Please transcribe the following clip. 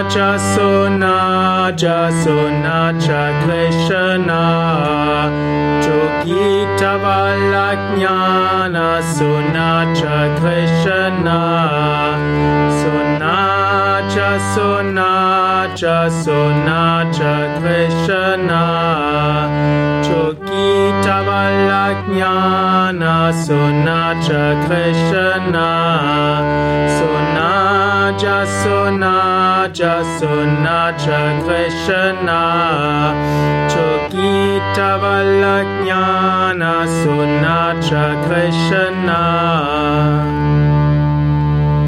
Sona Sonacha Krishna Jogita Valajnana Sonacha Krishna Sonacha Krishna Jogita Valajnana Sonacha Krishna Sonacha Krishna Jogita Valajnana Sonacha Krishna